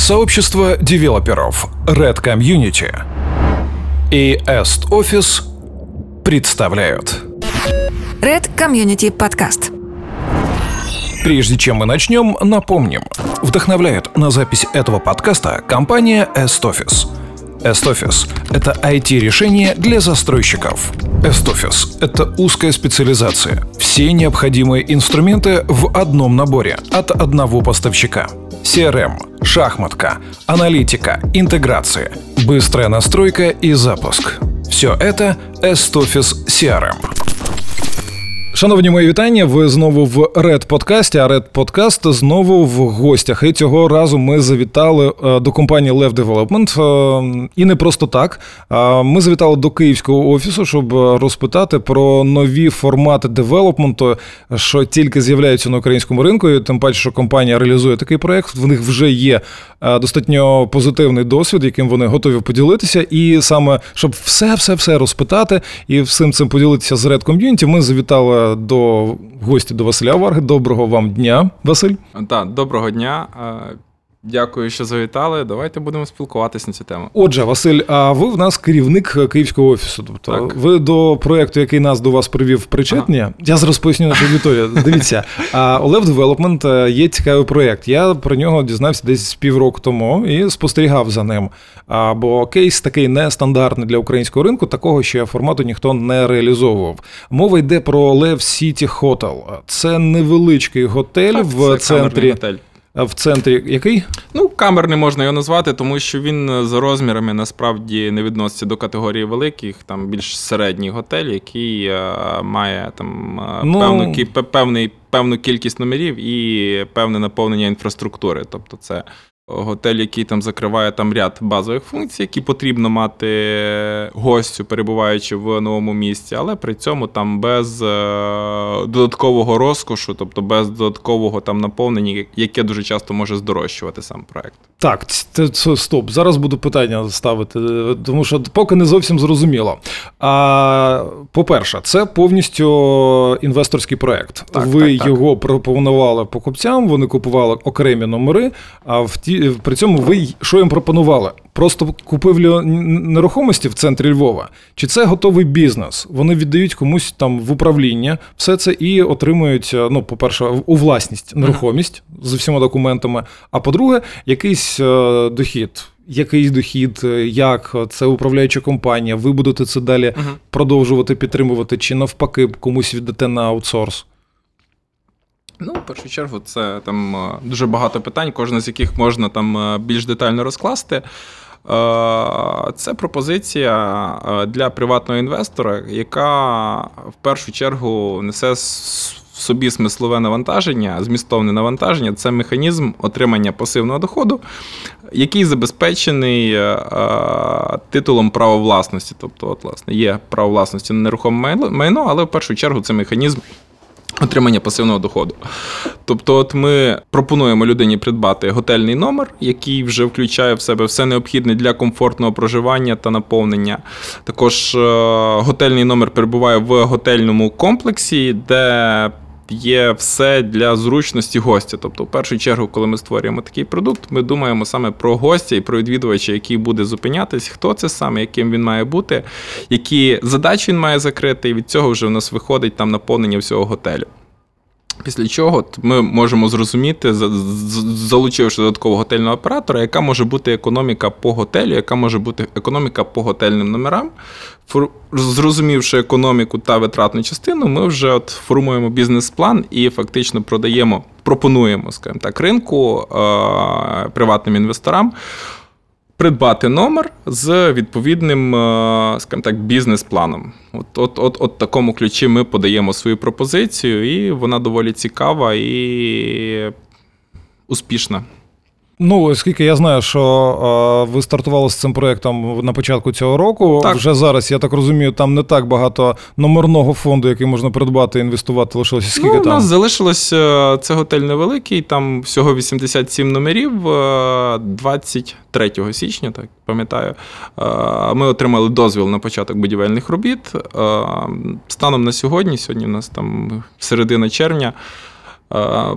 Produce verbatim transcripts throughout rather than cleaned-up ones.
Сообщество девелоперов Red Community и Est Office представляют Red Community подкаст. Прежде чем мы начнем, напомним. Вдохновляет на запись этого подкаста компания Est Office. Est Office – это ай ти-решение для застройщиков. Est Office – это узкая специализация. Все необходимые инструменты в одном наборе от одного поставщика. си ар эм, шахматка, аналитика, интеграция, быстрая настройка и запуск. Все это Est Office си ар эм. Шановні мої вітання, ви знову в Red подкасті, а Red подкаст знову в гостях. І цього разу ми завітали до компанії Lev Development. І не просто так. Ми завітали до київського офісу, щоб розпитати про нові формати девелопменту, що тільки з'являються на українському ринку. І тим паче, що компанія реалізує такий проєкт. В них вже є достатньо позитивний досвід, яким вони готові поділитися. І саме, щоб все-все-все розпитати і всім цим поділитися з Red Community, ми завітали до гості до Василя Варги. Доброго вам дня, Василь. Так, доброго дня. Дякую, що завітали. Давайте будемо спілкуватися на цю тему. Отже, Василь, а ви в нас керівник київського офісу. Тобто так. Ви до проєкту, який нас до вас привів, причетні. Ага. Я зараз поясню нашу аудиторію. Дивіться, у Lev Development є цікавий проєкт. Я про нього дізнався десь півроку тому і спостерігав за ним. Бо кейс такий нестандартний для українського ринку, такого ще формату ніхто не реалізовував. Мова йде про Lev City Hotel. Це невеличкий готель так, в центрі. Готель. В центрі який? Ну, камерний можна його назвати, тому що він за розмірами насправді не відноситься до категорії великих, там більш середній готель, який е, має там ну... певну, певний, певну кількість номерів і певне наповнення інфраструктури. Тобто це готель, який там закриває там ряд базових функцій, які потрібно мати гостю, перебуваючи в новому місці, але при цьому там без е, додаткового розкошу, тобто без додаткового там наповнення, яке дуже часто може здорожчувати сам проект. Так, це, це стоп. Зараз буду питання ставити, тому що поки не зовсім зрозуміло. А, по-перше, це повністю інвесторський проект. Так, Ви так, його так. пропонували покупцям, вони купували окремі номери, а в ті при цьому ви що їм пропонували? Просто купівлю нерухомості в центрі Львова? Чи це готовий бізнес? Вони віддають комусь там в управління все це і отримують, ну, по-перше, у власність нерухомість з усіма документами, а по-друге, якийсь дохід. Який дохід, як це управляюча компанія, ви будете це далі uh-huh. продовжувати підтримувати, чи навпаки комусь віддате на аутсорс? Ну, в першу чергу, це там дуже багато питань, кожне з яких можна там більш детально розкласти. Це пропозиція для приватного інвестора, яка в першу чергу несе в собі смислове навантаження, змістовне навантаження. Це механізм отримання пасивного доходу, який забезпечений титулом права власності. Тобто, от, власне, є право власності на нерухоме майно, але в першу чергу це механізм отримання пасивного доходу. Тобто от ми пропонуємо людині придбати готельний номер, який вже включає в себе все необхідне для комфортного проживання та наповнення. Також готельний номер перебуває в готельному комплексі, де є все для зручності гостя. Тобто, в першу чергу, коли ми створюємо такий продукт, ми думаємо саме про гостя і про відвідувача, який буде зупинятись, хто це саме, яким він має бути, які задачі він має закрити, і від цього вже в нас виходить там наповнення всього готелю. Після чого ми можемо зрозуміти, залучивши додаткового готельного оператора, яка може бути економіка по готелю, яка може бути економіка по готельним номерам. Зрозумівши економіку та витратну частину, ми вже от формуємо бізнес-план і фактично продаємо, пропонуємо, скажімо так, ринку, е- приватним інвесторам придбати номер з відповідним, скажімо так, бізнес-планом. От, от, от, от такому ключі ми подаємо свою пропозицію, і вона доволі цікава і успішна. Ну, оскільки я знаю, що е, ви стартували з цим проєктом на початку цього року, так. Вже зараз, я так розумію, там не так багато номерного фонду, який можна придбати і інвестувати, лишилося скільки ну, там? У нас залишилося, це готель невеликий, там всього вісімдесят сім номерів, двадцять третього січня, так пам'ятаю, ми отримали дозвіл на початок будівельних робіт. Станом на сьогодні, сьогодні у нас там середина червня,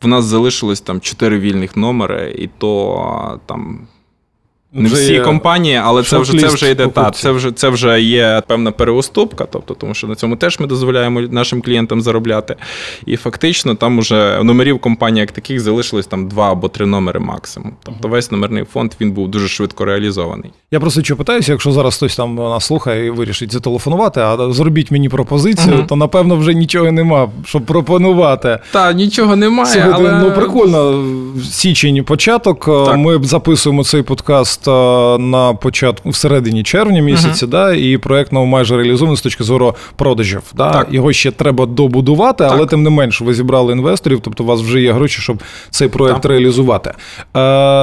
в нас залишилось там чотири вільних номери, і то там не вже всі компанії, але це вже, це вже йде, та, покупців. це вже, це вже є певна переуступка, тобто, тому що на цьому теж ми дозволяємо нашим клієнтам заробляти. І фактично там уже номерів компанії як таких залишилось там два або три номери максимум. Тобто весь номерний фонд, він був дуже швидко реалізований. Я просто що питаюся, якщо зараз хтось там нас слухає і вирішить зателефонувати, а зробіть мені пропозицію, uh-huh. то напевно вже нічого нема, щоб пропонувати. Та, нічого немає, Слухайте, але... ну прикольно, січень початок, так. Ми записуємо цей подкаст на початку, всередині червня місяця, uh-huh. да, і проект ну, майже реалізований з точки зору продажів. Да? Так. Його ще треба добудувати, так. але тим не менш ви зібрали інвесторів, тобто у вас вже є гроші, щоб цей проект так. реалізувати. Е,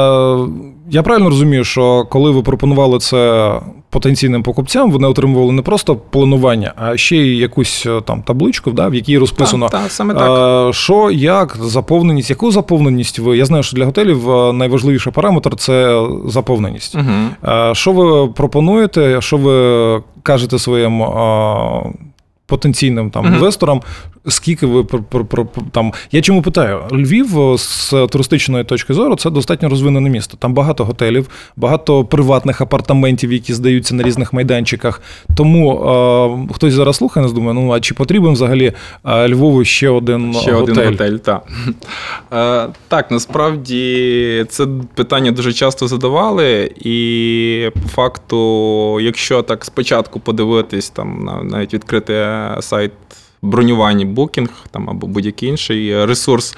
я правильно розумію, що коли ви пропонували це потенційним покупцям, вони отримували не просто планування, а ще й якусь там табличку, да, в якій розписано, так, так, саме так. що, як, заповненість, яку заповненість ви, я знаю, що для готелів найважливіший параметр – це заповненість. Угу. Що ви пропонуєте, що ви кажете своїм потенційним там uh-huh. інвесторам, скільки ви про, про, про, там. Я чому питаю? Львів з туристичної точки зору це достатньо розвинене місто. Там багато готелів, багато приватних апартаментів, які здаються на різних майданчиках. Тому е, хтось зараз слухає нас, думає, ну а чи потрібен взагалі е, Львову ще один ще готель? Ще один готель, так. Е, так, насправді це питання дуже часто задавали, і по факту, якщо так спочатку подивитись, там навіть відкрити сайт бронювання Booking там, або будь-який інший ресурс,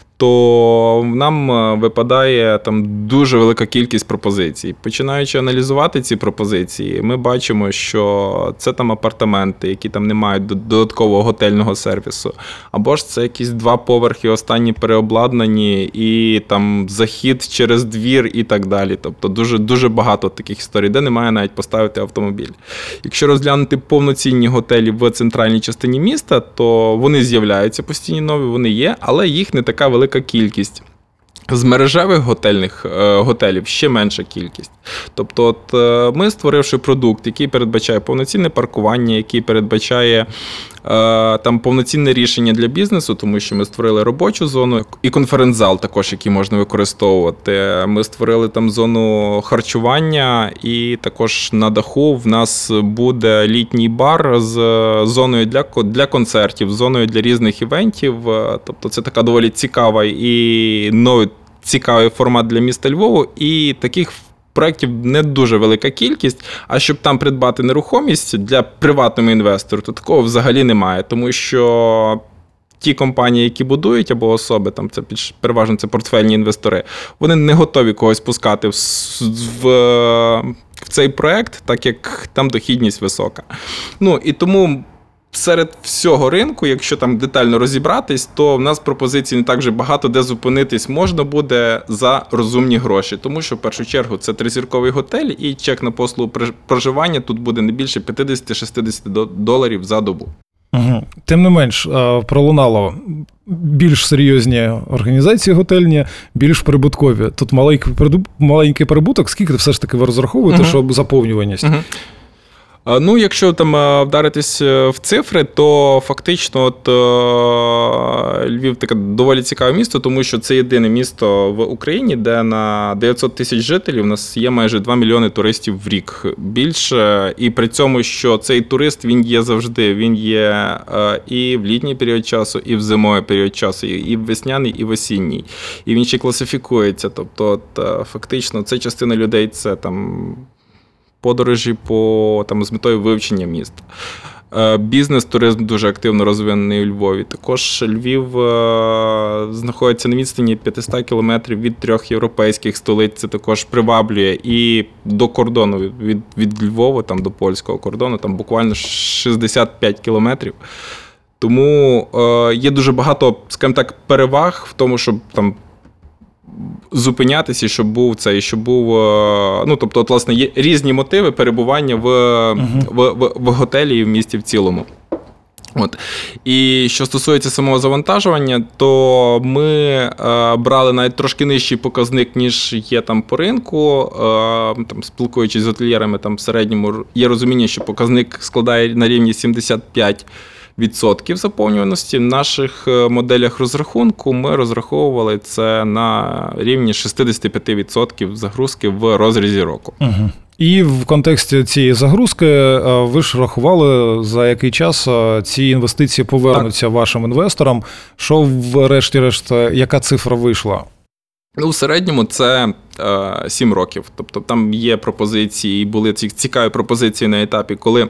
то нам випадає там дуже велика кількість пропозицій. Починаючи аналізувати ці пропозиції, ми бачимо, що це там апартаменти, які там не мають додаткового готельного сервісу, або ж це якісь два поверхи останні переобладнані і там захід через двір і так далі. Тобто дуже, дуже багато таких історій, де немає навіть поставити автомобіль. Якщо розглянути повноцінні готелі в центральній частині міста, то вони з'являються постійно нові, вони є, але їх не така велика кількість. З мережевих готельних е, готелів ще менша кількість. Тобто от, е, ми, створивши продукт, який передбачає повноцінне паркування, який передбачає е, там повноцінне рішення для бізнесу, тому що ми створили робочу зону і конференц-зал також, який можна використовувати. Ми створили там зону харчування і також на даху в нас буде літній бар з зоною для, для концертів, з зоною для різних івентів. Тобто це така доволі цікава і новий цікавий формат для міста Львову, і таких проєктів не дуже велика кількість, а щоб там придбати нерухомість для приватного інвестора, то такого взагалі немає, тому що ті компанії, які будують, або особи, там це переважно це портфельні інвестори, вони не готові когось пускати в, в, в цей проєкт, так як там дохідність висока. Ну, і тому серед всього ринку, якщо там детально розібратись, то в нас пропозицій не так вже багато, де зупинитись можна буде за розумні гроші. Тому що, в першу чергу, це тризірковий готель, і чек на послугу проживання тут буде не більше п'ятдесят-шістдесят доларів за добу. Угу. Тим не менш, пролунало більш серйозні організації готельні, більш прибуткові. Тут маленький, маленький прибуток, скільки все ж таки ви розраховуєте, угу. щоб заповнюваність? Угу. Ну, якщо там вдаритись в цифри, то фактично от, Львів таке доволі цікаве місто, тому що це єдине місто в Україні, де на дев'ятсот тисяч жителів у нас є майже два мільйони туристів в рік більше. І при цьому, що цей турист, він є завжди, він є і в літній період часу, і в зимовий період часу, і в весняний, і в осінній. І він ще класифікується. Тобто, от, фактично, це частина людей, це там подорожі по, там, з метою вивчення міста. Бізнес-туризм дуже активно розвинений у Львові. Також Львів е, знаходиться на відстані п'ятсот кілометрів від трьох європейських столиць. Це також приваблює і до кордону, від, від Львова там, до польського кордону, там буквально шістдесят п'ять кілометрів. Тому е, є дуже багато, скажімо так, переваг в тому, щоб там зупинятися, щоб був цей, щоб був, ну, тобто, от, власне, є різні мотиви перебування в, uh-huh. в, в, в готелі і в місті в цілому. От. І що стосується самого завантажування, то ми е, брали навіть трошки нижчий показник, ніж є там по ринку. Е, там, спілкуючись з готельєрами, там в середньому є розуміння, що показник складає на рівні сімдесят п'ять відсотків заповнюваності. В наших моделях розрахунку ми розраховували це на рівні шістдесят п'ять відсотків загрузки в розрізі року. Угу. І в контексті цієї загрузки ви ж рахували, за який час ці інвестиції повернуться так. вашим інвесторам. Що врешті-решт, яка цифра вийшла? Ну, у середньому це е, сім років. Тобто там є пропозиції, були ці цікаві пропозиції на етапі, коли е,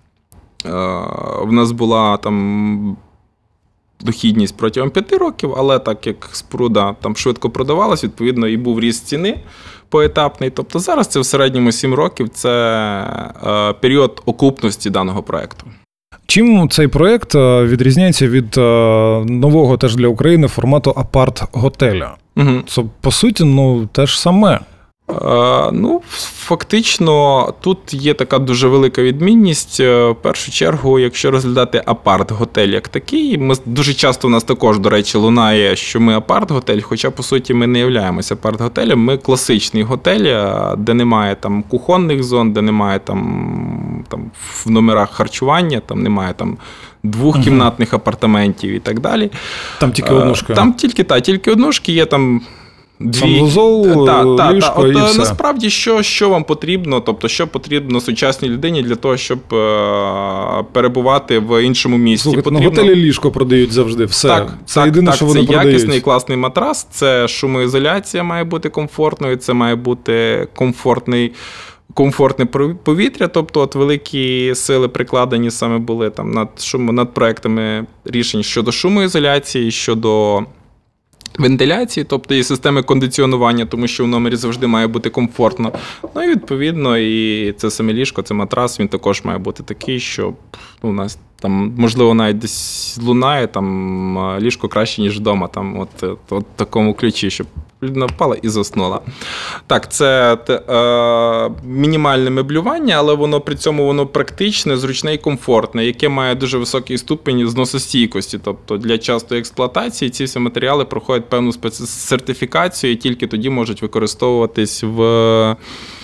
в нас була там дохідність протягом п'яти років, але так як споруда там швидко продавалась, відповідно, і був ріст ціни поетапний. Тобто зараз це в середньому сім років, це е, період окупності даного проєкту. Чим цей проєкт відрізняється від нового теж для України формату апарт-готеля? Угу. Це, по суті, ну, те ж саме. Е, ну, фактично, тут є така дуже велика відмінність. В першу чергу, якщо розглядати апарт-готель як такий, ми, дуже часто у нас також, до речі, лунає, що ми апарт-готель, хоча, по суті, ми не являємося апарт-готелем. Ми класичний готель, де немає там кухонних зон, де немає там, там в номерах харчування, там немає там двохкімнатних угу. апартаментів і так далі. Там тільки однушки. Там тільки, та, тільки однушки, є там дві... Санвузол, та, та, ліжко та. От, і все. Насправді, що, що вам потрібно, тобто, що потрібно сучасній людині для того, щоб е- перебувати в іншому місці? Слухайте, потрібно... на готелі ліжко продають завжди, все. Так, це так, єдине, так, що вони це продають. Це якісний, класний матрас, це шумоізоляція має бути комфортною, це має бути комфортний комфортне повітря, тобто от великі сили прикладені саме були там над, шум, над проектами рішень щодо шумоізоляції, щодо вентиляції, тобто і системи кондиціонування, тому що в номері завжди має бути комфортно. Ну і відповідно, і це саме ліжко, це матрас, він також має бути такий, що ну, у нас там, можливо, навіть десь лунає, там ліжко краще, ніж вдома, там от, от, от в такому ключі, щоб людина впала і заснула. Так, це е, мінімальне меблювання, але воно при цьому воно практичне, зручне і комфортне, яке має дуже високий ступень зносостійкості. Тобто для частої експлуатації ці всі матеріали проходять певну спецсертифікацію і тільки тоді можуть використовуватись в...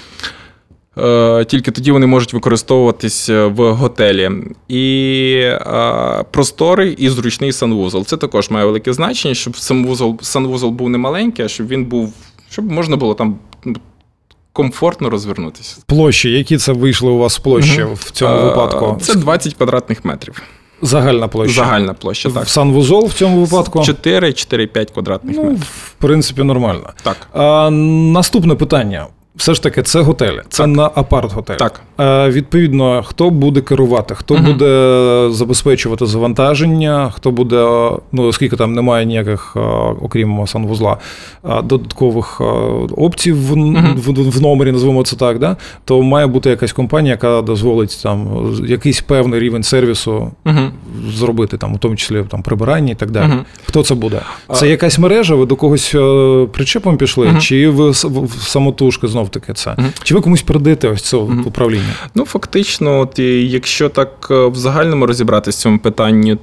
Тільки тоді вони можуть використовуватись в готелі. І е, просторий і зручний санвузол. Це також має велике значення, щоб санвузол, санвузол був не маленький, а щоб він був, щоб можна було там комфортно розвернутися. Площі, які це вийшли у вас площі угу. в цьому е, випадку? Це двадцять квадратних метрів. Загальна площа? Загальна площа, так. В санвузол в цьому випадку? чотири-чотири-п'ять квадратних ну, метрів. В принципі, нормально. Так. А, наступне питання. Все ж таки, це готелі, це так. на апарт-готель. Так. Е, відповідно, хто буде керувати, хто угу. буде забезпечувати завантаження, хто буде, ну, оскільки там немає ніяких, окрім санвузла, додаткових опцій в, угу. в, в номері, назвемо це так, да? То має бути якась компанія, яка дозволить там якийсь певний рівень сервісу угу. зробити, там, у тому числі там, прибирання і так далі. Угу. Хто це буде? Це якась мережа, ви до когось причепом пішли, угу. чи ви в самотужки знову таки це? Uh-huh. Чи ви комусь передаєте ось це uh-huh. управління? Ну, фактично, от, якщо так в загальному розібратися в цьому питанні,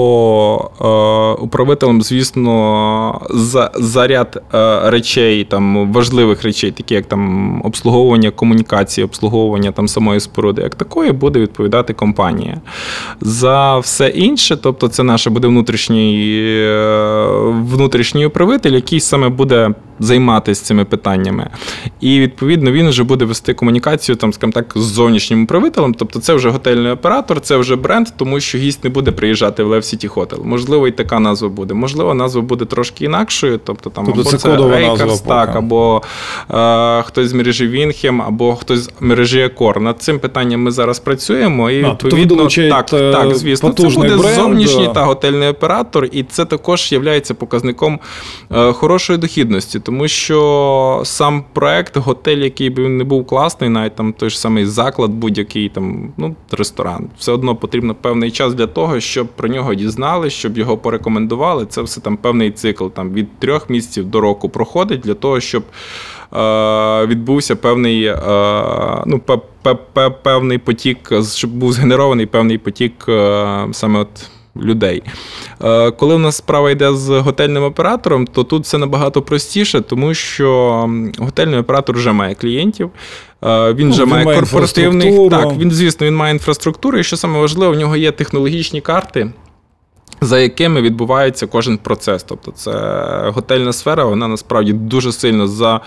то е, управителем, звісно, за, за ряд е, речей, там, важливих речей, такі як там, обслуговування комунікації, обслуговування там, самої споруди, як такої, буде відповідати компанія. За все інше, тобто це наш буде внутрішній, е, внутрішній управитель, який саме буде займатися цими питаннями. І, відповідно, він вже буде вести комунікацію, там, скажімо так, з зовнішнім управителем. Тобто це вже готельний оператор, це вже бренд, тому що гість не буде приїжджати в Lev City Hotel. Можливо, і така назва буде. Можливо, назва буде трошки інакшою. Тобто, там, тобто або це, це Acres, так, або е, хтось з мережі Вінхем, або хтось з мережі Accor. Над цим питанням ми зараз працюємо. І, а, відповідно, тобто так, так, звісно, це буде бренд, зовнішній та готельний оператор, і це також є показником е, хорошої дохідності. Тому що сам проект, готель, який би він не був класний, навіть там той ж самий заклад, будь-який там, ну, ресторан, все одно потрібно певний час для того, щоб про нього дізнали, щоб його порекомендували. Це все там певний цикл, там від трьох місяців до року проходить для того, щоб е, відбувся певний, е, ну, певний потік, щоб був згенерований певний потік е, саме от людей. Коли в нас справа йде з готельним оператором, то тут все набагато простіше, тому що готельний оператор вже має клієнтів, Він ну, вже він має має корпоративний... Так, він, звісно, він має інфраструктуру, і що саме важливо, в нього є технологічні карти, за якими відбувається кожен процес. Тобто це готельна сфера, вона насправді дуже сильно за...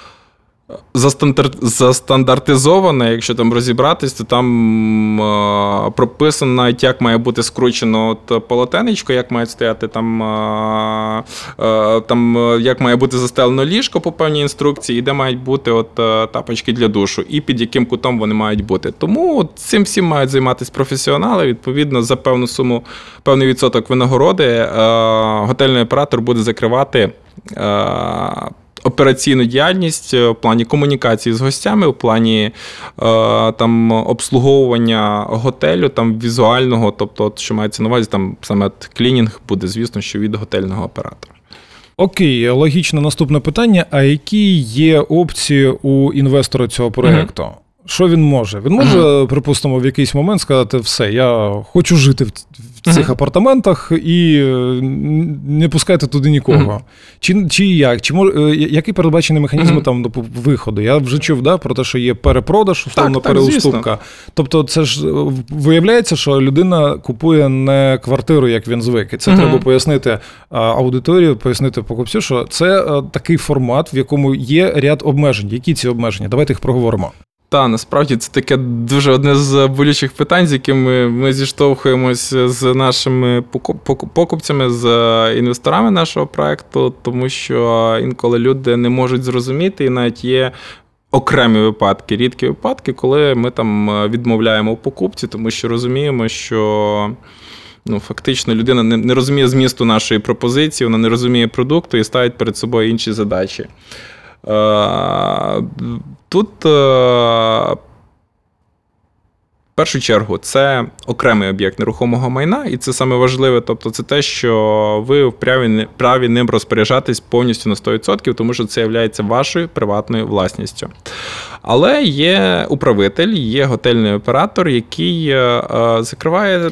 застандартизована, якщо там розібратись, то там е, прописано навіть, як має бути скручено от полотенечко, як має стояти там, е, е, там, як має бути застелено ліжко по певній інструкції, і де мають бути от, е, тапочки для душу, і під яким кутом вони мають бути. Тому от, цим всім мають займатися професіонали, відповідно, за певну суму, певний відсоток винагороди е, готельний оператор буде закривати е, операційну діяльність в плані комунікації з гостями, в плані е, там, обслуговування готелю, там, візуального, тобто, от, що мається на увазі, там саме клінінг буде, звісно, що від готельного оператора. Окей, логічне наступне питання. А які є опції у інвестора цього проєкту? Mm-hmm. Що він може? Він може, mm-hmm. припустимо, в якийсь момент сказати, все, я хочу жити в цих mm-hmm. апартаментах і не пускайте туди нікого. Mm-hmm. Чи, чи як? Чи мож, який передбачений механізм mm-hmm. там виходу? Я вже чув, да, про те, що є перепродаж, условно, переуступка. Тобто це ж виявляється, що людина купує не квартиру, як він звик. І це mm-hmm. треба пояснити аудиторії, пояснити покупцю, що це такий формат, в якому є ряд обмежень. Які ці обмеження? Давайте їх проговоримо. Так, насправді це таке дуже одне з болючих питань, з якими ми зіштовхуємось з нашими покупцями, з інвесторами нашого проєкту, тому що інколи люди не можуть зрозуміти, і навіть є окремі випадки, рідкі випадки, коли ми там відмовляємо у покупці, тому що розуміємо, що ну, фактично людина не, не розуміє змісту нашої пропозиції, вона не розуміє продукту і ставить перед собою інші задачі. Тут, в першу чергу, це окремий об'єкт нерухомого майна, і це саме важливе, тобто це те, що ви вправі, праві ним розпоряджатись повністю на сто відсотків, тому що це є вашою приватною власністю. Але є управитель, є готельний оператор, який закриває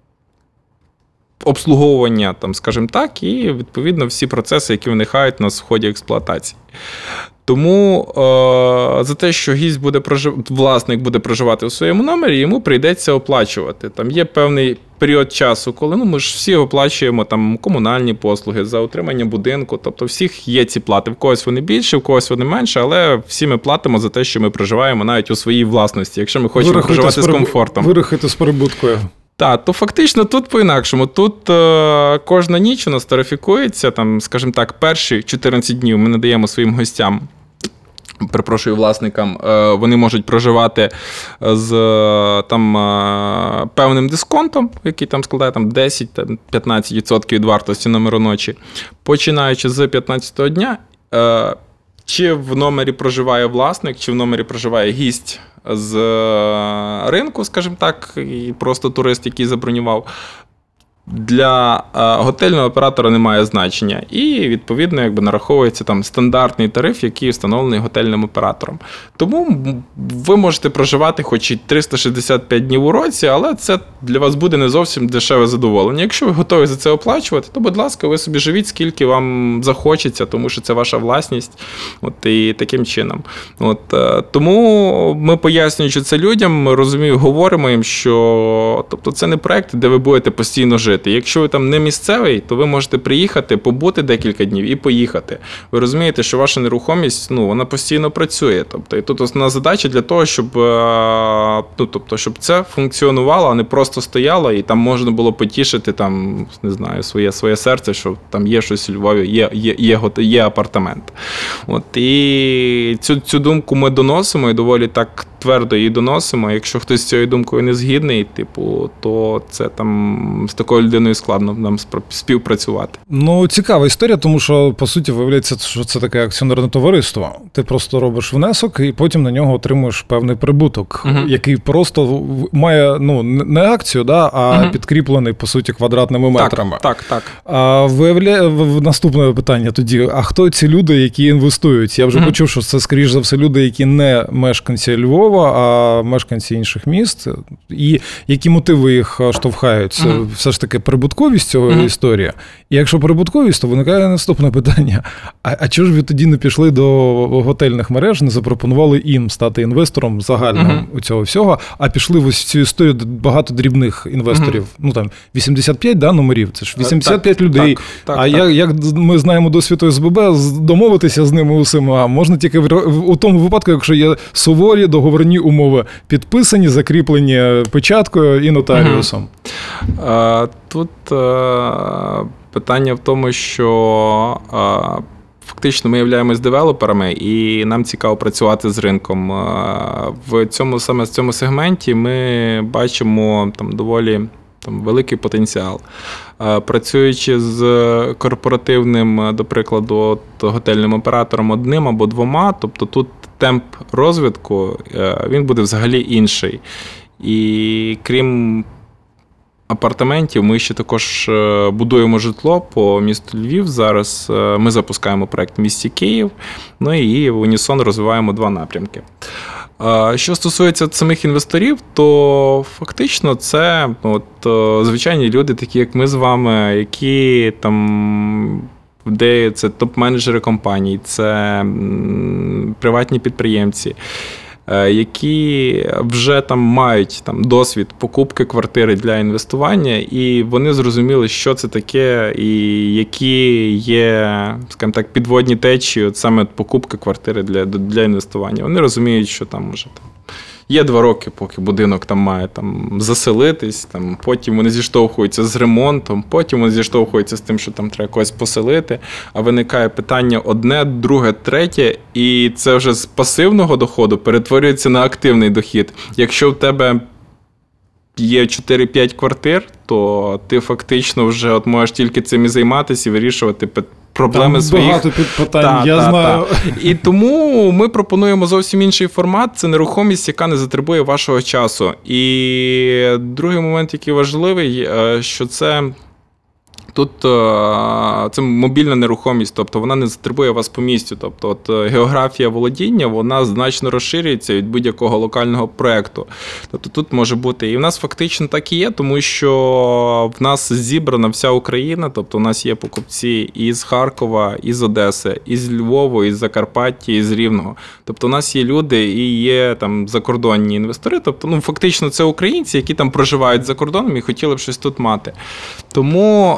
обслуговування, там, скажімо так, і, відповідно, всі процеси, які виникають у нас в ході експлуатації. Тому е, за те, що гість буде прожив... власник буде проживати у своєму номері, йому прийдеться оплачувати. Там є певний період часу, коли ну, ми ж всі оплачуємо там, комунальні послуги за утримання будинку, тобто всіх є ці плати. В когось вони більше, в когось вони менше, але всі ми платимо за те, що ми проживаємо навіть у своїй власності, якщо ми хочемо Вирахуйте проживати з, переб... з комфортом. Вирахуйте з перебуткою. Так, то фактично тут по-інакшому. Тут е, кожна ніч у нас тарифікується, там, скажімо так, перші чотирнадцять днів ми надаємо своїм гостям, перепрошую, власникам, е, вони можуть проживати з там, е, певним дисконтом, який там складає там, десять-п'ятнадцять відсотків від вартості номеру ночі. Починаючи з п'ятнадцятого дня, е, чи в номері проживає власник, чи в номері проживає гість з ринку, скажімо так, і просто турист, який забронював, для готельного оператора немає значення. І, відповідно, якби нараховується там стандартний тариф, який встановлений готельним оператором. Тому ви можете проживати хоч і триста шістдесят п'ять днів у році, але це для вас буде не зовсім дешеве задоволення. Якщо ви готові за це оплачувати, то, будь ласка, ви собі живіть, скільки вам захочеться, тому що це ваша власність. От, і таким чином. От, тому ми, пояснюючи це людям, ми розумію, говоримо їм, що тобто, це не проєкт, де ви будете постійно жити. Якщо ви там не місцевий, то ви можете приїхати, побути декілька днів і поїхати. Ви розумієте, що ваша нерухомість, ну, вона постійно працює. Тобто, і тут основна задача для того, щоб, ну, тобто, щоб це функціонувало, а не просто стояло, і там можна було потішити, там, не знаю, своє, своє серце, що там є щось у Львові, є, є, є, є апартамент. От, і цю, цю думку ми доносимо, і доволі так твердо її доносимо. Якщо хтось з цією думкою не згідний, типу, то це там з такою людиною складно нам співпрацювати. Ну, цікава історія, тому що, по суті, виявляється, що це таке акціонерне товариство. Ти просто робиш внесок і потім на нього отримуєш певний прибуток, uh-huh. який просто має, ну, не акцію, да, а uh-huh. підкріплений, по суті, квадратними метрами. Так, так, так. А виявляє, наступне питання тоді, а хто ці люди, які інвестують? Я вже uh-huh. почув, що це, скоріш за все, люди, які не мешканці Львова, а мешканці інших міст. І які мотиви їх штовхають? Uh-huh. Все ж таки прибутковість цього mm-hmm. історії. І якщо прибутковість, то виникає наступне питання. А, а чого ж ви тоді не пішли до готельних мереж, не запропонували їм стати інвестором загальним uh-huh. у цього всього, а пішли в ось цю історію багато дрібних інвесторів, uh-huh. ну там вісімдесят п'ять да, номерів, це ж вісімдесят п'ять так, людей. Так, так, а так. Як, як ми знаємо досвід О С Б Б, домовитися з ними усіма можна тільки в, у тому випадку, якщо є суворі договорні умови, підписані, закріплені печаткою і нотаріусом. Uh-huh. Тут uh, питання в тому, що uh, фактично ми являємось девелоперами, і нам цікаво працювати з ринком. В цьому, саме в цьому сегменті ми бачимо там доволі там, великий потенціал. Працюючи з корпоративним, до прикладу, готельним оператором одним або двома, тобто тут темп розвитку, він буде взагалі інший. І крім апартаментів, ми ще також будуємо житло по місту Львів. Зараз ми запускаємо проєкт в місті Київ, ну і в унісон розвиваємо два напрямки. Що стосується самих інвесторів, то фактично це от, звичайні люди, такі як ми з вами, які там, де це топ-менеджери компаній, це приватні підприємці, які вже там мають там досвід покупки квартири для інвестування, і вони зрозуміли, що це таке, і які є, скажімо так, підводні течії от саме покупки квартири для, для інвестування. Вони розуміють, що там може там є два роки, поки будинок там має там заселитись, там потім вони зіштовхуються з ремонтом, потім вони зіштовхуються з тим, що там треба когось поселити, а виникає питання одне, друге, третє, і це вже з пасивного доходу перетворюється на активний дохід. Якщо в тебе є чотири-п'ять квартир, то ти фактично вже от можеш тільки цим і займатися і вирішувати питання. Проблеми там своїх. Багато підпитань, та, я та, знаю. Та. І тому ми пропонуємо зовсім інший формат. Це нерухомість, яка не затребує вашого часу. І другий момент, який важливий, що це тут це мобільна нерухомість, тобто вона не затребує вас по місцю. Тобто от географія володіння, вона значно розширюється від будь-якого локального проєкту. Тобто тут може бути, і в нас фактично так і є, тому що в нас зібрана вся Україна, тобто у нас є покупці із Харкова, із Одеси, із Львова, із Закарпаття, із Рівного. Тобто у нас є люди і є там закордонні інвестори, тобто ну фактично це українці, які там проживають за кордоном і хотіли б щось тут мати. Тому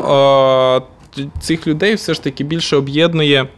цих людей все ж таки більше об'єднує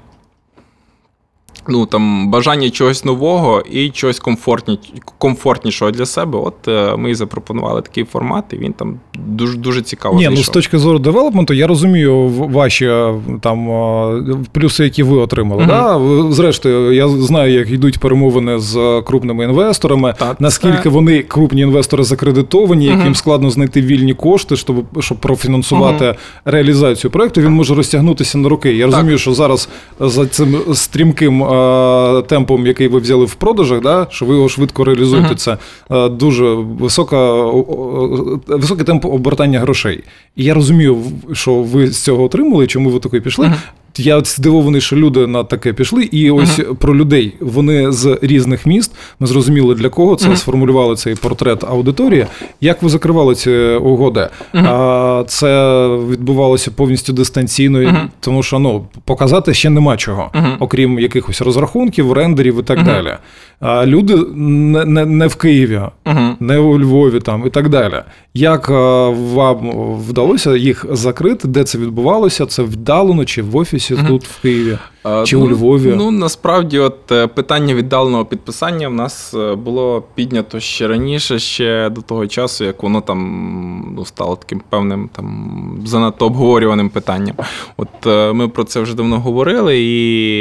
ну, там, бажання чогось нового і чогось комфортні, комфортнішого для себе. От ми і запропонували такий формат, і він там дуже, дуже цікаво Ні, зайшов. ну з точки зору девелопменту, я розумію ваші там плюси, які ви отримали. Mm-hmm. Да? Зрештою, я знаю, як йдуть перемовини з крупними інвесторами, так, наскільки це... вони, крупні інвестори, закредитовані, mm-hmm. яким складно знайти вільні кошти, щоб, щоб профінансувати mm-hmm. реалізацію проєкту, він може розтягнутися на роки. Я так. розумію, що зараз за цим стрімким темпом, який ви взяли в продажах, да, що ви його швидко реалізуєте, uh-huh. це дуже висока, високий темп обертання грошей. І я розумію, що ви з цього отримали, чому ви таки пішли. Uh-huh. Я от здивований, що люди на таке пішли. І ось uh-huh. про людей. Вони з різних міст. Ми зрозуміли, для кого це, uh-huh. сформулювали цей портрет аудиторії. Як ви закривали ці угоди? Uh-huh. Це відбувалося повністю дистанційно, uh-huh. тому що ну, показати ще нема чого, uh-huh. окрім якихось розрахунків, рендерів і так uh-huh. далі. А люди не, не, не в Києві, uh-huh. не у Львові там, і так далі. Як вам вдалося їх закрити? Де це відбувалося? Це вдалено чи в офісі uh-huh. тут в Києві? Чи ну, у Львові? Ну, насправді, от питання віддаленого підписання в нас було піднято ще раніше, ще до того часу, як воно там ну, стало таким певним там занадто обговорюваним питанням. От ми про це вже давно говорили, і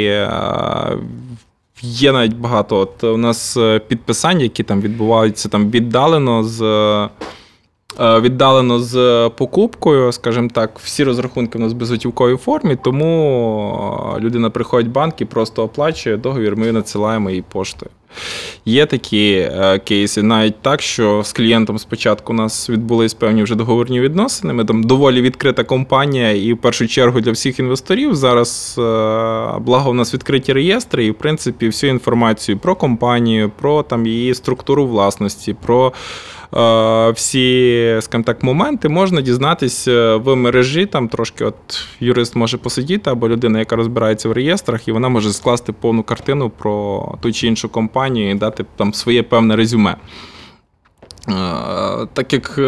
є навіть багато. От у нас підписань, які там відбуваються там віддалено з віддалено з покупкою, скажімо так, всі розрахунки в нас в безготівковій формі, тому людина приходить в банк і просто оплачує договір, ми надсилаємо її поштою. Є такі кейси, навіть так, що з клієнтом спочатку у нас відбулись певні вже договірні відносини, ми там доволі відкрита компанія і в першу чергу для всіх інвесторів. Зараз, благо, у нас відкриті реєстри і, в принципі, всю інформацію про компанію, про там її структуру власності, про всі, скажімо так, моменти можна дізнатися в мережі, там трошки от юрист може посидіти, або людина, яка розбирається в реєстрах, і вона може скласти повну картину про ту чи іншу компанію і дати там своє певне резюме. Так як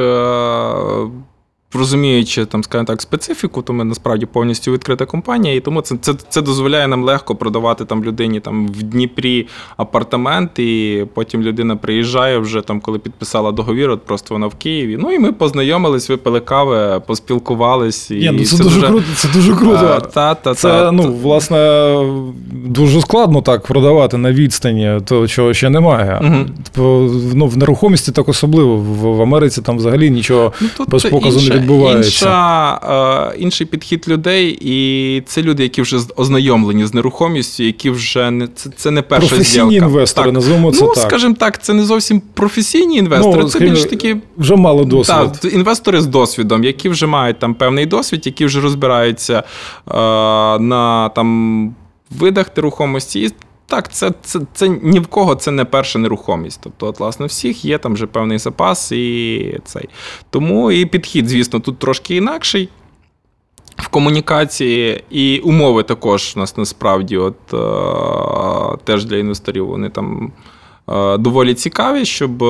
розуміючи, там, скажімо так, специфіку, то ми насправді повністю відкрита компанія, і тому це, це, це дозволяє нам легко продавати там людині там, в Дніпрі апартамент, і потім людина приїжджає вже, там, коли підписала договір, от просто вона в Києві. Ну і ми познайомились, випили кави, поспілкувались. І Є, ну, це, це дуже дуже круто, це дуже круто. А, та, та, це, та, ну, та. власне, дуже складно так продавати на відстані того, чого ще немає. Угу. Ну, в нерухомості так особливо. В, в Америці там взагалі нічого ну, без показу інша, не відбувається. Інша, е, інший підхід людей, і це люди, які вже ознайомлені з нерухомістю, які вже не це, це не перша зділка. Професійні інвестори, так. Називаємо це ну, так. Скажімо так, це не зовсім професійні інвестори, ну, це більш такі вже мало досвіду. Так, інвестори з досвідом, які вже мають там певний досвід, які вже розбираються е, на там видах нерухомості. І так, це, це, це ні в кого це не перша нерухомість. Тобто, от, власне, всіх є там вже певний запас і цей. Тому і підхід, звісно, тут трошки інакший в комунікації, і умови також у нас насправді от, е, теж для інвесторів вони там доволі цікаві, щоб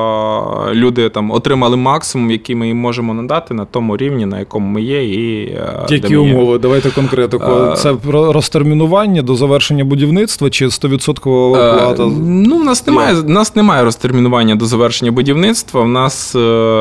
люди там отримали максимум, який ми їм можемо надати на тому рівні, на якому ми є. І які умови? Є. Давайте конкретику. Це розтермінування до завершення будівництва чи сто відсотків оплата? Ну, в нас немає, в нас немає розтермінування до завершення будівництва. В нас,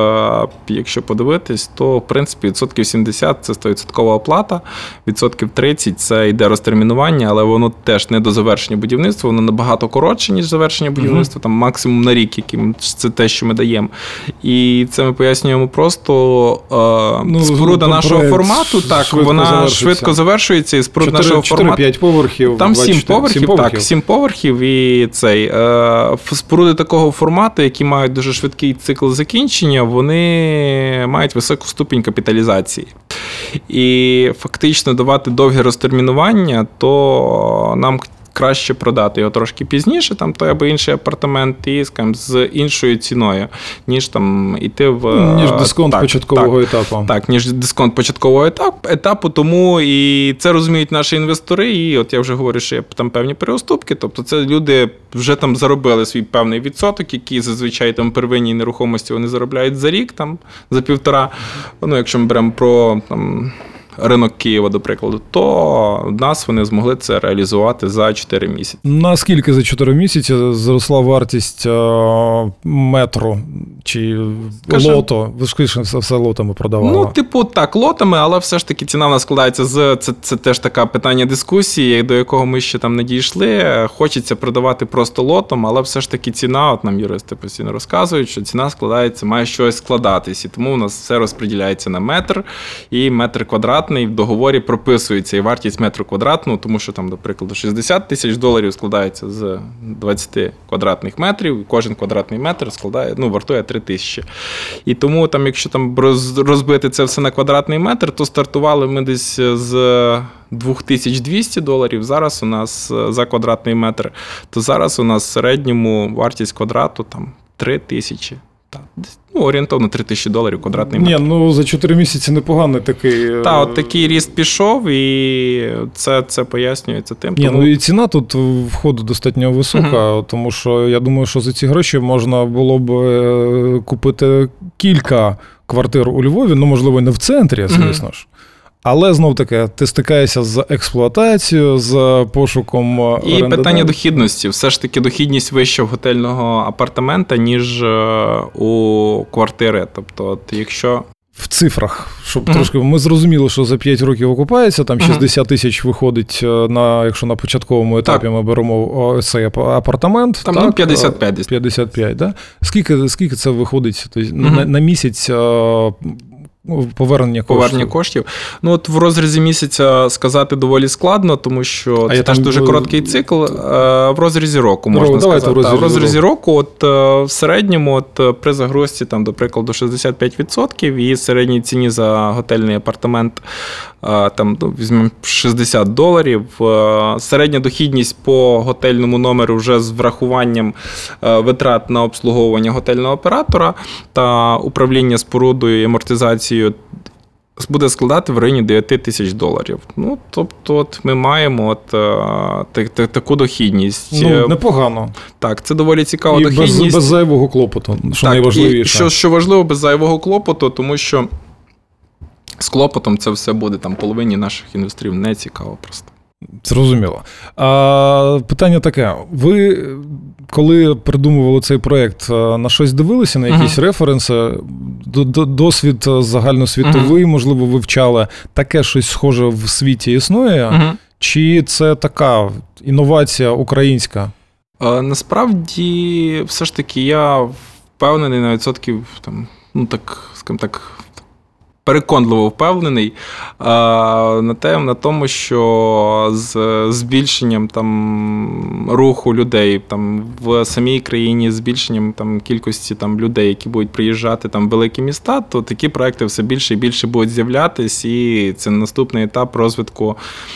якщо подивитись, то, в принципі, відсотків сімдесят – це сто відсотків оплата, відсотків тридцять – це йде розтермінування, але воно теж не до завершення будівництва, воно набагато коротше, ніж завершення будівництва. Будівництво, там максимум на рік, яким це те, що ми даємо. І це ми пояснюємо просто. Е, ну, споруда нашого формату, так, швидко вона завершується. швидко завершується, і споруда нашого формату. чотири-п'ять поверхів. Там сім поверхів, поверхів, так, сім поверхів, і цей. Е, споруди такого формату, які мають дуже швидкий цикл закінчення, вони мають високу ступінь капіталізації. І фактично давати довге розтермінування, то нам краще продати його трошки пізніше, там той або інший апартамент, і, скажімо, з іншою ціною, ніж там іти в... Ніж дисконт так, початкового так, етапу. Так, ніж дисконт початкового етапу, етапу, тому і це розуміють наші інвестори, і от я вже говорю, що є там певні переуступки, тобто це люди вже там заробили свій певний відсоток, який зазвичай там первинній нерухомості вони заробляють за рік, там, за півтора, ну, якщо ми беремо про там ринок Києва, до прикладу, то в нас вони змогли це реалізувати за чотири місяці. Наскільки за чотири місяці зросла вартість метру чи Скажем, лото? Ви ж скажіть, все, все лотами продавали. Ну, типу, так, лотами, але все ж таки ціна в нас складається з... Це, це теж така питання дискусії, до якого ми ще там не дійшли. Хочеться продавати просто лотом, але все ж таки ціна, от нам юристи постійно розказують, що ціна складається, має щось складатись. І тому у нас все розподіляється на метр і метр квадратний. В договорі прописується і вартість метру квадратного, тому що там, до прикладу, шістдесят тисяч доларів складається з двадцять квадратних метрів, і кожен квадратний метр складає, ну, вартує три тисячі. І тому, там, якщо там розбити це все на квадратний метр, то стартували ми десь з дві тисячі двісті доларів, зараз у нас за квадратний метр, то зараз у нас в середньому вартість квадрату там три тисячі. Так, ну, орієнтовно три тисячі доларів квадратний метр. Ні, ну за чотири місяці непоганий такий. Так, от такий ріст пішов, і це, це пояснюється тим. Ні, тому... ну і ціна тут входу достатньо висока, угу. Тому що я думаю, що за ці гроші можна було б купити кілька квартир у Львові, ну, можливо, не в центрі, звісно угу. ж. Але, знов-таки, ти стикаєшся з експлуатацією, з пошуком і орендаря. Питання дохідності. Все ж таки дохідність вища в готельного апартамента, ніж у квартири. Тобто, от якщо... В цифрах, щоб mm-hmm. трошки... Ми зрозуміли, що за п'ять років окупається, там шістдесят mm-hmm. тисяч виходить, на, якщо на початковому етапі так. ми беремо цей апартамент. Там так, ну, п'ятдесят п'ять. п'ятдесят п'ять, да? Скільки, скільки це виходить тобто, mm-hmm. на, на місяць Повернення коштів. Повернення коштів. Ну, от в розрізі місяця сказати доволі складно, тому що а це теж дуже короткий цикл. В розрізі року, можна Давайте сказати. В розрізі, в розрізі року, от в середньому, от при загрузці, там, до прикладу, шістдесят п'ять відсотків і середній ціні за готельний апартамент, там, ну, візьмемо шістдесят доларів. Середня дохідність по готельному номеру вже з врахуванням витрат на обслуговування готельного оператора та управління спорудою і амортизацією буде складати в районі дев'ять тисяч доларів. Ну, тобто, от ми маємо от, так, так, таку дохідність. Ну, непогано. Так, це доволі цікава і дохідність. Без, без зайвого клопоту, що так, найважливіше. І що, що важливо, без зайвого клопоту, тому що з клопотом це все буде там половині наших інвесторів не цікаво просто. Зрозуміло. А, питання таке. Ви, коли придумували цей проєкт, на щось дивилися, на якісь uh-huh. референси, досвід загальносвітовий, uh-huh. можливо, вивчали, таке щось схоже в світі існує? Uh-huh. Чи це така інновація українська? А, насправді, все ж таки, я впевнений на відсотків, там, ну так, скажімо так, переконливо впевнений а, на, те, на тому, що з збільшенням там, руху людей там, в самій країні, збільшенням там, кількості там, людей, які будуть приїжджати там, в великі міста, то такі проекти все більше і більше будуть з'являтись, і це наступний етап розвитку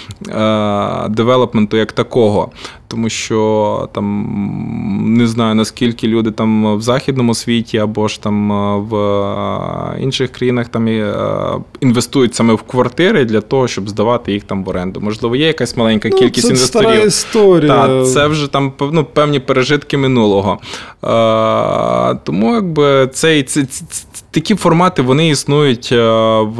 е- девелопменту як такого. Тому що там не знаю, наскільки люди там в західному світі або ж там в інших країнах там інвестують саме в квартири для того, щоб здавати їх там в оренду. Можливо, є якась маленька ну, кількість це інвесторів. Це стара історія. Так, це вже там ну, певні пережитки минулого. А, тому якби цей, ці, ці, такі формати, вони існують в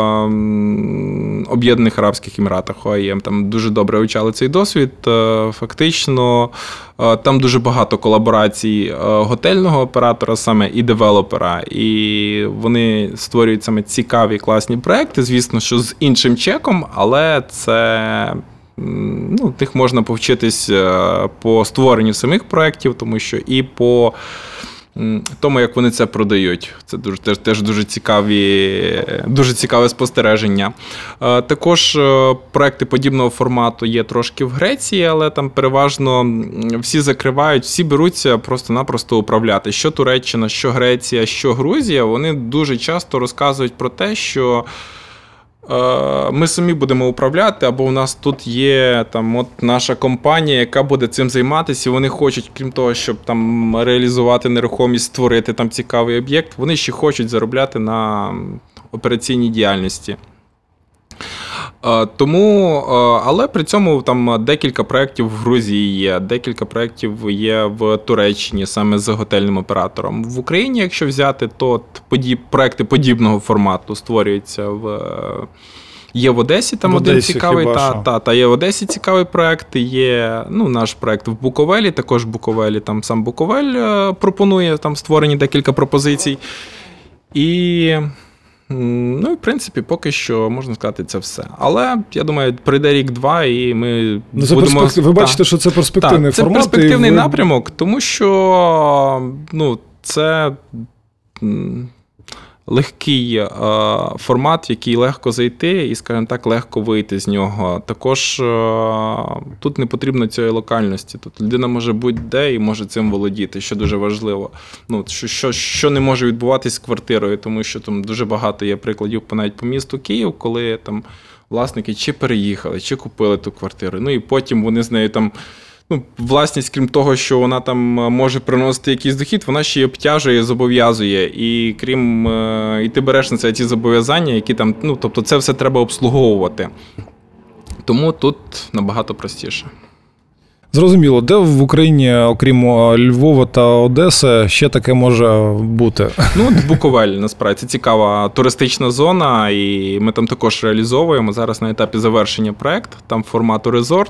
Об'єднаних Арабських Еміратах, о ай ем. Там дуже добре вивчали цей досвід. Фактично, там дуже багато колаборацій готельного оператора саме і девелопера. І вони створюють саме цікаві, класні проекти, звісно, що з іншим чеком, але це... Ну, тих можна повчитись по створенню самих проєктів, тому що і по тому, як вони це продають. Це дуже, теж, теж дуже цікаві, дуже цікаве спостереження. Також проекти подібного формату є трошки в Греції, але там переважно всі закривають, всі беруться просто-напросто управляти. Що Туреччина, що Греція, що Грузія, вони дуже часто розказують про те, що ми самі будемо управляти, або у нас тут є там, от наша компанія, яка буде цим займатися, і вони хочуть, крім того, щоб там реалізувати нерухомість, створити там цікавий об'єкт, вони ще хочуть заробляти на операційній діяльності. Тому, але при цьому там декілька проєктів в Грузії є, декілька проєктів є в Туреччині саме з готельним оператором. В Україні, якщо взяти, то подіб, проєкти подібного формату створюються в... Є в Одесі, там в один Одесі, цікавий, та, та, та, є в Одесі цікавий проєкт, є ну, наш проєкт в Буковелі, також в Буковелі, там сам Буковель пропонує, там створені декілька пропозицій. І... Ну, і, в принципі, поки що, можна сказати, це все. Але, я думаю, прийде рік-два, і ми ну, це будемо... Перспектив... Ви бачите, та, що це перспективний та, формат? Це перспективний ви... напрямок, тому що, ну, це легкий е, формат, в який легко зайти і, скажімо так, легко вийти з нього. Також е, тут не потрібно цієї локальності. Тут людина може будь-де і може цим володіти, що дуже важливо. Ну, що, що, що не може відбуватись з квартирою, тому що там дуже багато є прикладів навіть по місту Київ, коли там власники чи переїхали, чи купили ту квартиру. Ну і потім вони з нею там... Ну, власність, крім того, що вона там може приносити якийсь дохід, вона ще й обтяжує, зобов'язує. І крім, і ти береш на це ті зобов'язання, які там, ну, тобто це все треба обслуговувати. Тому тут набагато простіше. Зрозуміло. Де в Україні, окрім Львова та Одеси, ще таке може бути? Ну, Буковель, насправді, це цікава туристична зона, і ми там також реалізовуємо. Зараз на етапі завершення проєкт, там формату резорт.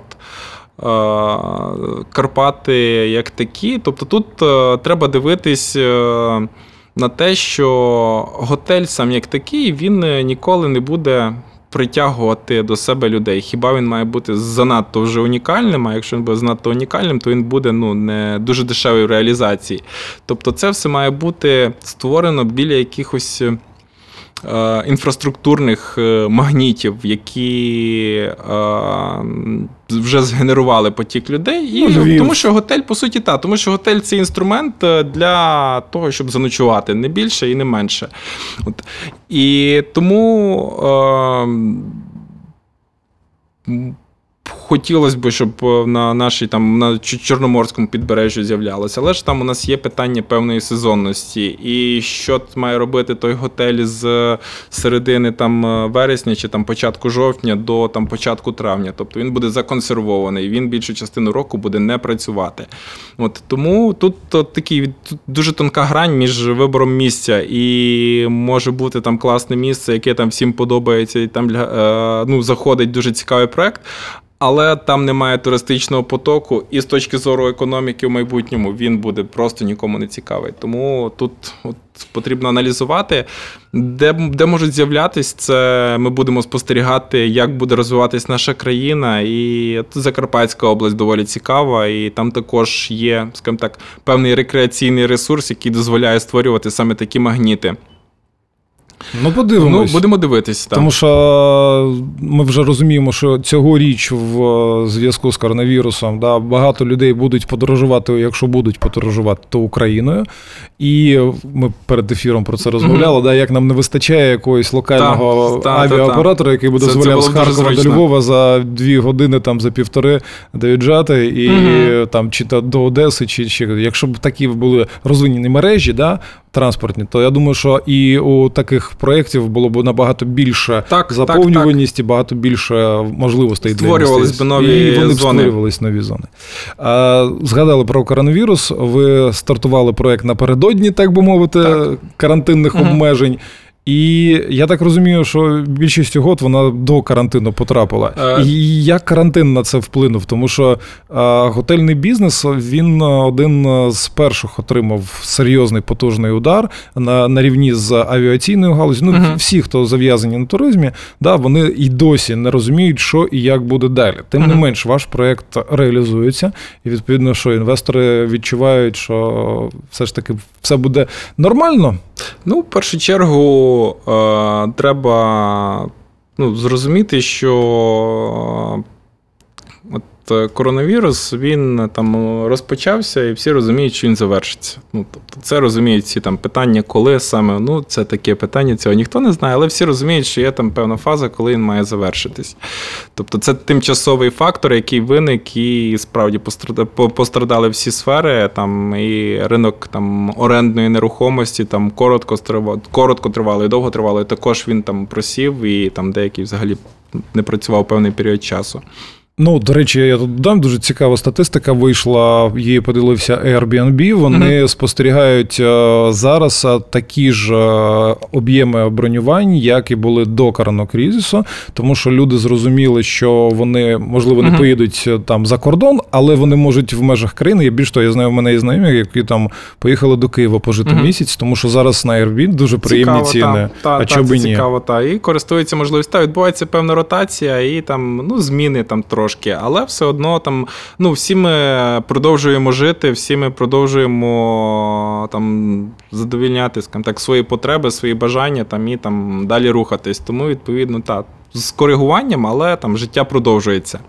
Карпати як такі. Тобто тут треба дивитись на те, що готель сам як такий, він ніколи не буде притягувати до себе людей. Хіба він має бути занадто вже унікальним, а якщо він буде занадто унікальним, то він буде ну, не дуже дешевий в реалізації. Тобто це все має бути створено біля якихось інфраструктурних магнітів, які вже згенерували потік людей. І, ну, тому що готель, по суті, так, тому що готель – це інструмент для того, щоб заночувати, не більше і не менше. От. І тому е- хотілося б, щоб на нашій там на Чорноморському підбережжі з'являлося, але ж там у нас є питання певної сезонності. І що має робити той готель з середини там вересня чи там початку жовтня до там початку травня. Тобто він буде законсервований, він більшу частину року буде не працювати. От тому тут от, такий тут дуже тонка грань між вибором місця, і може бути там класне місце, яке там всім подобається, і там е, ну, заходить дуже цікавий проект. Але там немає туристичного потоку, і з точки зору економіки в майбутньому він буде просто нікому не цікавий. Тому тут от потрібно аналізувати, де, де можуть з'являтися, це ми будемо спостерігати, як буде розвиватись наша країна. І Закарпатська область доволі цікава, і там також є, скажімо так, певний рекреаційний ресурс, який дозволяє створювати саме такі магніти. Ну, подивимось. Ну, будемо дивитися. Тому що ми вже розуміємо, що цьогоріч в зв'язку з коронавірусом, да, багато людей будуть подорожувати, якщо будуть подорожувати, то Україною. І ми перед ефіром про це розмовляли, mm-hmm. да, як нам не вистачає якогось локального та, авіаоператора, та, та. який би дозволяв з Харкова до Львова за дві години, там, за півтори доїжджати, і mm-hmm. там, чи то до Одеси, чи, чи якщо б такі були розвинені мережі, да, транспортні, то я думаю, що і у таких проєктів було б набагато більше так, заповнюваність так, так. і багато більше можливостей для створювались б нові і вони зони. створювались нові зони. А, згадали про коронавірус, ви стартували проєкт напередодні, так би мовити, так. карантинних угу. обмежень. І я так розумію, що більшість угод вона до карантину потрапила. Е... І як карантин на це вплинув? Тому що а, готельний бізнес, він один з перших отримав серйозний потужний удар на, на рівні з авіаційною галузю. Ну, uh-huh. всі, хто зав'язані на туризмі, да, вони і досі не розуміють, що і як буде далі. Тим uh-huh. не менш, ваш проєкт реалізується. І, відповідно, що інвестори відчувають, що все ж таки все буде нормально. Ну, в першу чергу, е, треба ну, зрозуміти, що от коронавірус, він там розпочався, і всі розуміють, що він завершиться. Ну, тобто, це розуміють всі там питання, коли саме, ну, це таке питання, цього ніхто не знає, але всі розуміють, що є там певна фаза, коли він має завершитись. Тобто, це тимчасовий фактор, який виник, і справді пострадали всі сфери, там, і ринок там орендної нерухомості, там, коротко, коротко тривалий, довго тривалий, також він там просів, і там деякий взагалі не працював певний період часу. Ну, до речі, я тут додам, дуже цікава статистика вийшла, її поділився Airbnb, вони mm-hmm. спостерігають зараз такі ж об'єми бронювань, як і були до коронакризису, тому що люди зрозуміли, що вони, можливо, не mm-hmm. поїдуть там за кордон, але вони можуть в межах країни, я більш того, я знаю, в мене є знайомі, які там поїхали до Києва пожити mm-hmm. місяць, тому що зараз на Airbnb дуже приємні цікаво, ціни, та, а та, чого б і ні. Цікаво, та, і користуються можливістю, відбувається певна ротація і там, ну, зміни там трошки. Але все одно там, ну, всі ми продовжуємо жити, всі ми продовжуємо там задовільняти, скажімо так, свої потреби, свої бажання там, і там далі рухатись. Тому, відповідно, так, з коригуванням, але там життя продовжується.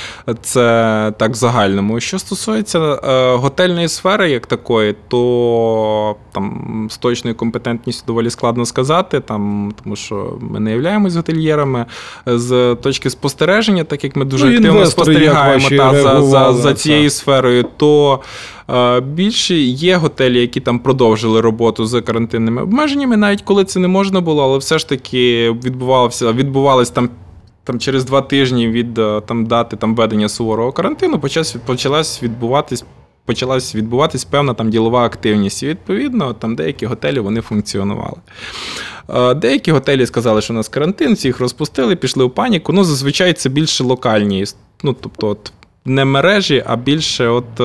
Це так в загальному. Що стосується е, готельної сфери як такої, то там з точною компетентністю доволі складно сказати, там, тому що ми не являємось готельєрами. З точки спостереження, так як ми дуже ну, активно спостерігаємо та, за, за, за цією сферою, то е, більше є готелі, які там продовжили роботу з карантинними обмеженнями, навіть коли це не можна було, але все ж таки відбувалося, відбувалось там Там через два тижні від там, дати там, введення суворого карантину почалась відбуватись, почалась відбуватись певна там, ділова активність. І, відповідно, там деякі готелі вони функціонували. Деякі готелі сказали, що у нас карантин, всіх розпустили, пішли в паніку. Ну, зазвичай це більше локальні, ну, тобто от, не мережі, а більше от...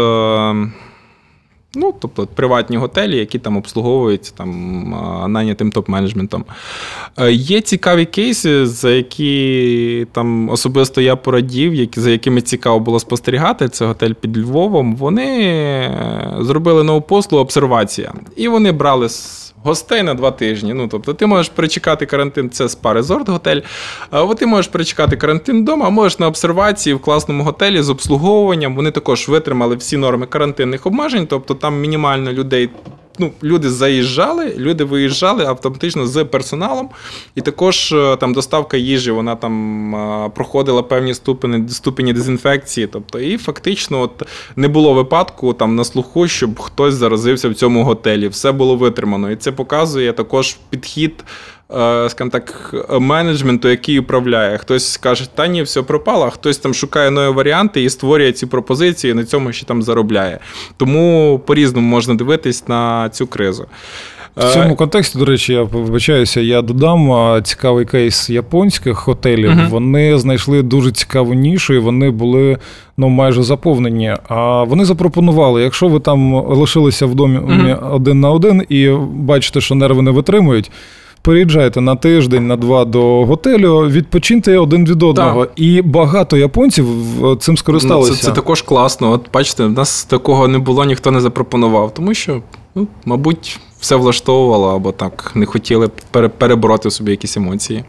Ну, тобто приватні готелі, які там обслуговуються там, найнятим топ-менеджментом. Є цікаві кейси, за які там особисто я порадів, які, за якими цікаво було спостерігати. Це готель під Львовом. Вони зробили нову послугу «Обсервація». І вони брали гостей на два тижні. Ну, тобто ти можеш перечекати карантин, це спа-резорт готель, а ти можеш перечекати карантин вдома, а можеш на обсервації в класному готелі з обслуговуванням. Вони також витримали всі норми карантинних обмежень, тобто там мінімально людей. Ну, люди заїжджали, люди виїжджали автоматично з персоналом, і також там доставка їжі, вона там проходила певні ступені, ступені дезінфекції, тобто і фактично от не було випадку там на слуху, щоб хтось заразився в цьому готелі, все було витримано, і це показує також підхід, скажімо так, менеджменту, який управляє. Хтось каже, та ні, все пропало, а хтось там шукає нові варіанти і створює ці пропозиції, і на цьому ще там заробляє. Тому по-різному можна дивитись на цю кризу. В цьому контексті, до речі, я вибачаюся, я додам цікавий кейс японських готелів. Uh-huh. Вони знайшли дуже цікаву нішу, і вони були ну, майже заповнені. А вони запропонували, якщо ви там лишилися в домі uh-huh. один на один і бачите, що нерви не витримують, переїжджайте на тиждень, на два до готелю, відпочиньте один від одного. Так. І багато японців цим скористалися. Ну, це, це також класно. От бачите, в нас такого не було, ніхто не запропонував. Тому що, ну, мабуть, все влаштовувало, або так не хотіли перебороти в собі якісь емоції.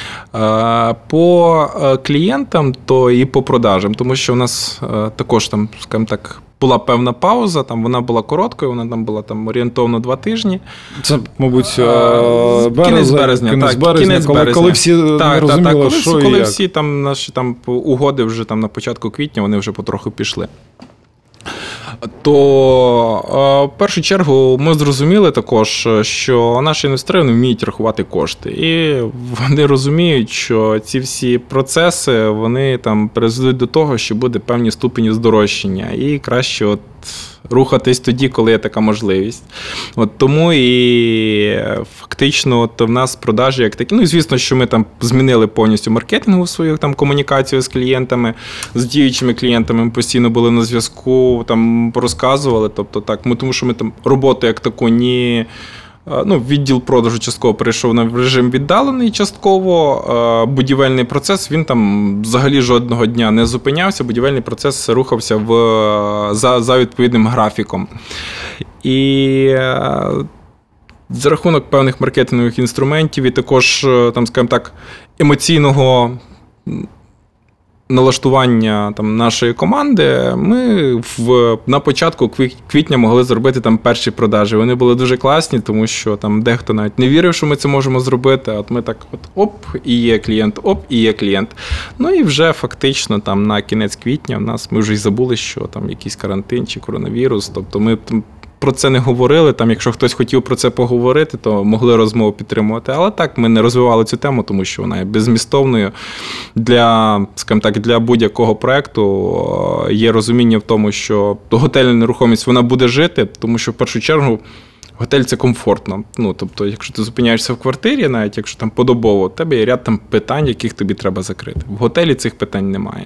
По клієнтам, то і по продажам. Тому що у нас також там, скажімо так, була певна пауза, там вона була короткою, вона там була там орієнтовно два тижні. Це, мабуть, березня, кінець березня, кінець так, березня, кінець коли, березня. коли всі так, не розуміли, так, коли що всі, і коли як. всі там наші там угоди вже там на початку квітня, вони вже потроху пішли. То в першу чергу ми зрозуміли також, що наші інвестори не вміють рахувати кошти. І вони розуміють, що ці всі процеси, вони там призведуть до того, що буде певні ступені здорожчання. І краще от рухатись тоді, коли є така можливість. От тому і фактично от в нас продажі як такі. Ну і звісно, що ми там змінили повністю маркетингову свою там комунікацію з клієнтами, з діючими клієнтами. Ми постійно були на зв'язку, там розказували. Тобто так, ми, тому що ми там роботу як таку ні. Ну, відділ продажу частково перейшов на режим віддалений частково. Будівельний процес, він там взагалі жодного дня не зупинявся. Будівельний процес рухався в, за, за відповідним графіком. І за рахунок певних маркетингових інструментів і також, там, скажімо так, емоційного налаштування там нашої команди, ми в, на початку квітня могли зробити там перші продажі. Вони були дуже класні, тому що там дехто навіть не вірив, що ми це можемо зробити. А от ми так от оп, і є клієнт, оп, і є клієнт. Ну і вже фактично там на кінець квітня в нас, ми вже й забули, що там якийсь карантин чи коронавірус. Тобто ми там про це не говорили, там, якщо хтось хотів про це поговорити, то могли розмову підтримувати. Але так, ми не розвивали цю тему, тому що вона є беззмістовною. Для, скажімо так, для будь-якого проєкту є розуміння в тому, що готельна нерухомість, вона буде жити, тому що в першу чергу готель – це комфортно. Ну, тобто, якщо ти зупиняєшся в квартирі, навіть якщо там подобово, у тебе є ряд там питань, яких тобі треба закрити. В готелі цих питань немає.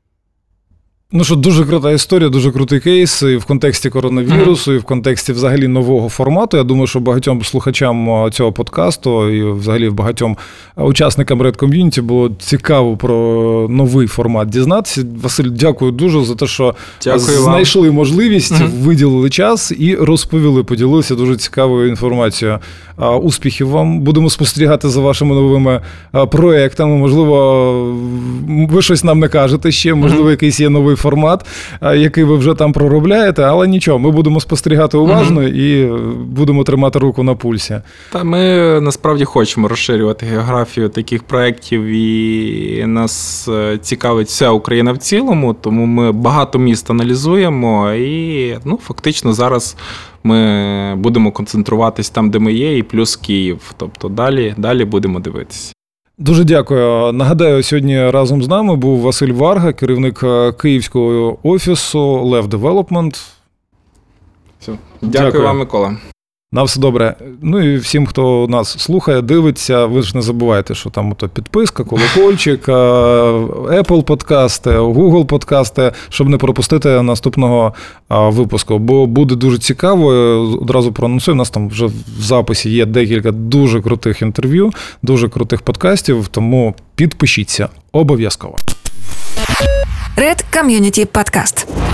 Ну що, дуже крута історія, дуже крутий кейс і в контексті коронавірусу, mm-hmm. і в контексті взагалі нового формату. Я думаю, що багатьом слухачам цього подкасту і взагалі багатьом учасникам Red Community було цікаво про новий формат дізнатися. Василь, дякую дуже за те, що дякую знайшли вам можливість, mm-hmm. виділили час і розповіли, поділилися дуже цікавою інформацією. Успіхів вам. Будемо спостерігати за вашими новими проєктами. Можливо, ви щось нам не кажете ще, можливо, mm-hmm. якийсь є новий формат, який ви вже там проробляєте, але нічого, ми будемо спостерігати уважно mm-hmm. і будемо тримати руку на пульсі. Та ми насправді хочемо розширювати географію таких проєктів, і нас цікавить вся Україна в цілому, тому ми багато міст аналізуємо і, ну, фактично зараз ми будемо концентруватись там, де ми є, і плюс Київ. Тобто далі, далі будемо дивитися. Дуже дякую. Нагадаю, сьогодні разом з нами був Василь Варга, керівник київського офісу Lev Development. Все. Дякую, дякую вам, Микола. На все добре. Ну і всім, хто нас слухає, дивиться, ви ж не забувайте, що там ото підписка, колокольчик, Apple подкасти, Google подкасти, щоб не пропустити наступного випуску. Бо буде дуже цікаво, одразу проанонсую, у нас там вже в записі є декілька дуже крутих інтерв'ю, дуже крутих подкастів, тому підпишіться обов'язково. Red Community Podcast.